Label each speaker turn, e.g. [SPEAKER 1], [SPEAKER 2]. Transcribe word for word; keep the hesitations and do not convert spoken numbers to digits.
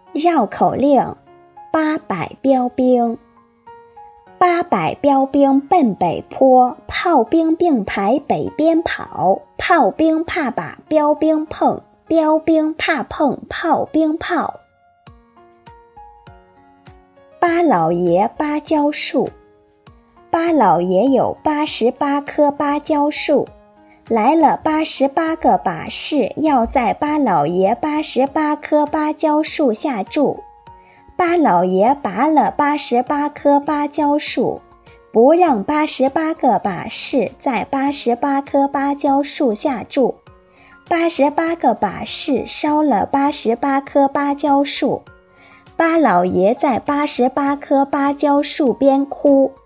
[SPEAKER 1] 绕口令：八百标兵。八百标兵奔北坡，炮兵并排北边跑，炮兵怕把标兵碰，标兵怕碰炮兵炮。八老爷芭蕉树。八老爷有八十八棵芭蕉树，来了八十八个把式，要在八老爷八十八棵芭蕉树下住。八老爷拔了八十八棵芭蕉树，不让八十八个把式在八十八棵芭蕉树下住。八十八个把式烧了八十八棵芭蕉树。八老爷在八十八棵芭蕉树边哭，